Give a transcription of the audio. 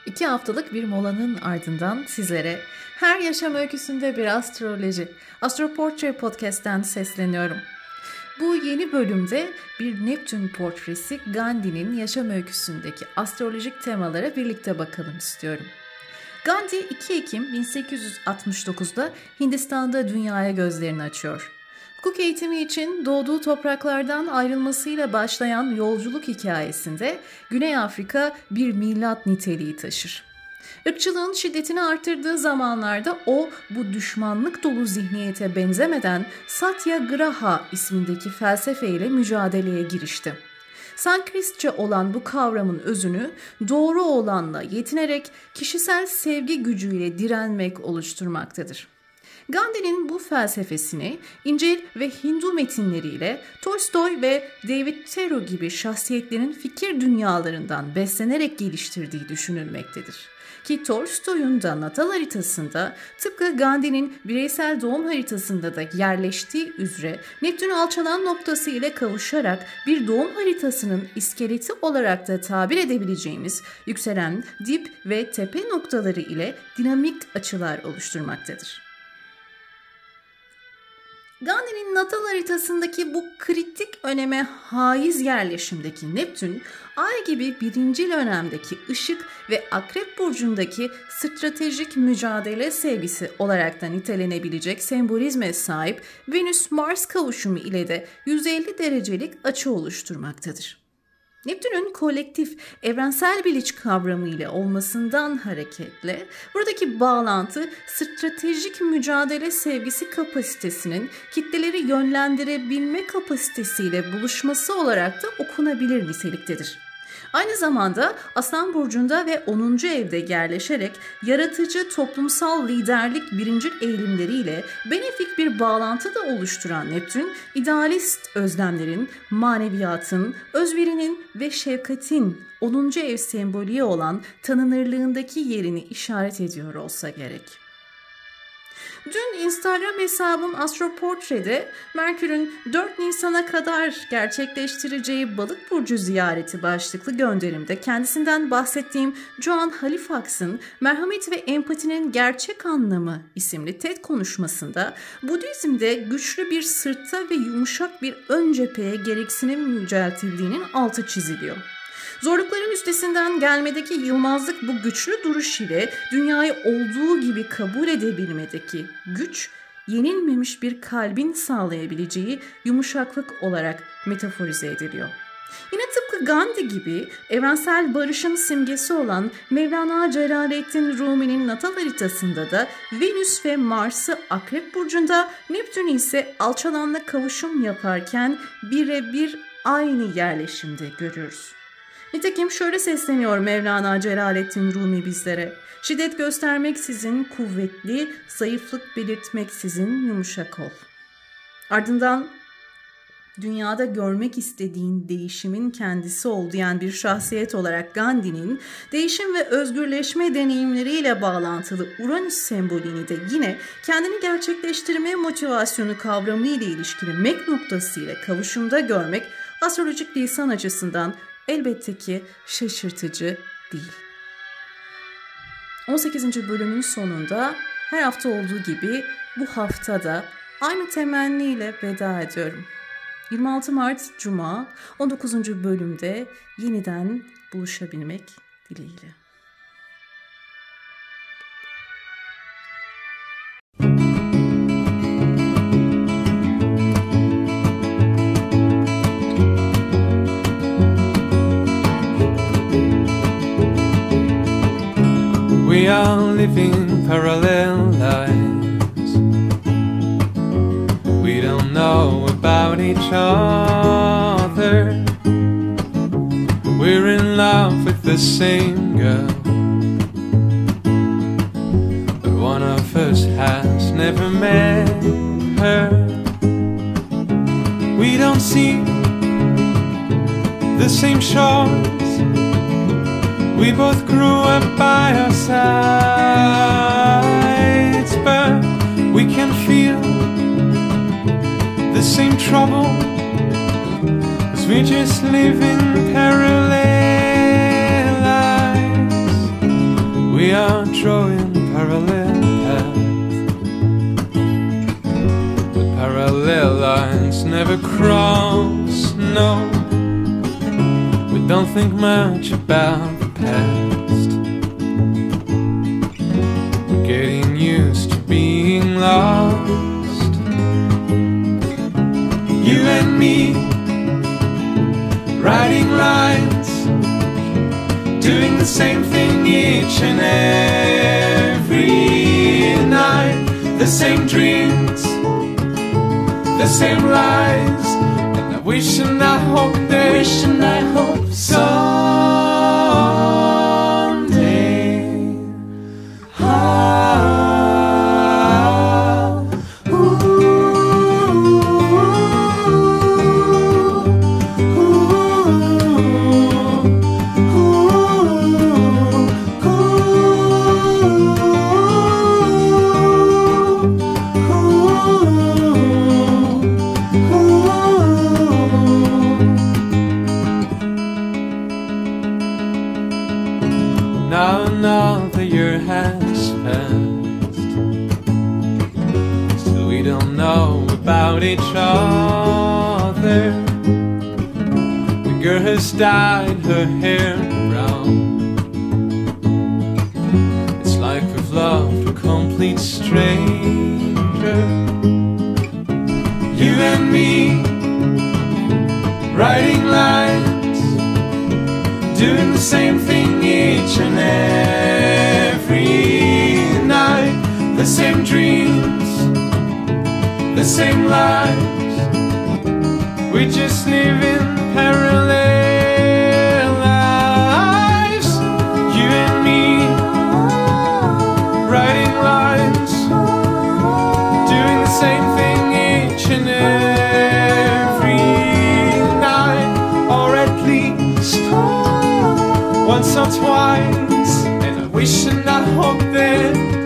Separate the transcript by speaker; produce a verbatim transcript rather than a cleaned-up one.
Speaker 1: İki haftalık bir molanın ardından sizlere her yaşam öyküsünde bir astroloji, Astroportre Podcast'ten sesleniyorum. Bu yeni bölümde bir Neptün portresi Gandhi'nin yaşam öyküsündeki astrolojik temalara birlikte bakalım istiyorum. Gandhi iki Ekim bin sekiz yüz altmış dokuzda Hindistan'da dünyaya gözlerini açıyor. Hukuk eğitimi için doğduğu topraklardan ayrılmasıyla başlayan yolculuk hikayesinde Güney Afrika bir milat niteliği taşır. Irkçılığın şiddetini artırdığı zamanlarda o bu düşmanlık dolu zihniyete benzemeden Satyagraha ismindeki felsefeyle mücadeleye girişti. Sanskritçe olan bu kavramın özünü doğru olanla yetinerek kişisel sevgi gücüyle direnmek oluşturmaktadır. Gandhi'nin bu felsefesini İncil ve Hindu metinleriyle Tolstoy ve David Thoreau gibi şahsiyetlerin fikir dünyalarından beslenerek geliştirdiği düşünülmektedir. Ki Tolstoy'un da natal haritasında tıpkı Gandhi'nin bireysel doğum haritasında da yerleştiği üzere Neptün alçalan noktası ile kavuşarak bir doğum haritasının iskeleti olarak da tabir edebileceğimiz yükselen dip ve tepe noktaları ile dinamik açılar oluşturmaktadır. Gandhi'nin natal haritasındaki bu kritik öneme haiz yerleşimdeki Neptün, Ay gibi birinci dönemdeki ışık ve Akrep burcundaki stratejik mücadele sevgisi olarak da nitelenebilecek sembolizme sahip Venüs-Mars kavuşumu ile de yüz elli derecelik açı oluşturmaktadır. Neptün'ün kolektif, evrensel bilinç kavramı ile olmasından hareketle buradaki bağlantı stratejik mücadele sevgisi kapasitesinin kitleleri yönlendirebilme kapasitesiyle buluşması olarak da okunabilir niteliktedir. Aynı zamanda Aslan burcunda ve onuncu evde yerleşerek yaratıcı toplumsal liderlik birincil eğilimleriyle benefik bir bağlantı da oluşturan Neptün, idealist özlemlerin, maneviyatın, özverinin ve şefkatin onuncu ev sembolü olan tanınırlığındaki yerini işaret ediyor olsa gerek. Dün Instagram hesabım Astroportre'de Merkür'ün dört Nisan'a kadar gerçekleştireceği Balık burcu ziyareti başlıklı gönderimde kendisinden bahsettiğim Joan Halifax'ın Merhamet ve Empatinin Gerçek Anlamı isimli TED konuşmasında Budizm'de güçlü bir sırta ve yumuşak bir ön cepheye gereksinim yüceltildiğinin altı çiziliyor. Zorlukların üstesinden gelmedeki yılmazlık bu güçlü duruş ile dünyayı olduğu gibi kabul edebilmedeki güç, yenilmemiş bir kalbin sağlayabileceği yumuşaklık olarak metaforize ediliyor. Yine tıpkı Gandhi gibi evrensel barışın simgesi olan Mevlana Celaleddin Rumi'nin natal haritasında da Venüs ve Mars'ı Akrep burcunda, Neptün ise alçalanla kavuşum yaparken birebir aynı yerleşimde görüyoruz. Nitekim şöyle sesleniyor Mevlana Celaleddin Rumi bizlere: şiddet göstermeksizin kuvvetli, zayıflık belirtmeksizin yumuşak ol. Ardından dünyada görmek istediğin değişimin kendisi ol diyen bir şahsiyet olarak Gandhi'nin değişim ve özgürleşme deneyimleriyle bağlantılı Uranüs sembolünü de yine kendini gerçekleştirme motivasyonu kavramı ile ilişkili mek noktası ile kavuşumda görmek astrolojik lisan açısından elbette ki şaşırtıcı değil. on sekizinci bölümün sonunda her hafta olduğu gibi bu hafta da aynı temenniyle veda ediyorum. yirmi altı Mart Cuma on dokuzuncu bölümde yeniden buluşabilmek dileğiyle.
Speaker 2: We are living parallel lives. We don't know about each other. We're in love with the same girl, but one of us has never met her. We don't see the same shores. We both grew up by our sides, but we can feel the same trouble, 'cause we just live in parallel lives. we are drawing parallel paths, but parallel lines never cross, no. We don't think much about the past. We're getting used to being lost. You and me, writing lines, doing the same thing each and every night. The same dreams, the same lies, and I wish and I hope that wish and I hope someday. Ah, ooh, now another year has passed, still we don't know about each other. The girl has dyed her hair brown. It's like we've loved a complete stranger. You and me, writing lines, doing the same thing each and every night. The same dreams, the same lives. We just live in parallel lives. You and me, writing lines, doing the same thing each and every night, or at least once or twice, and I wish and I hope that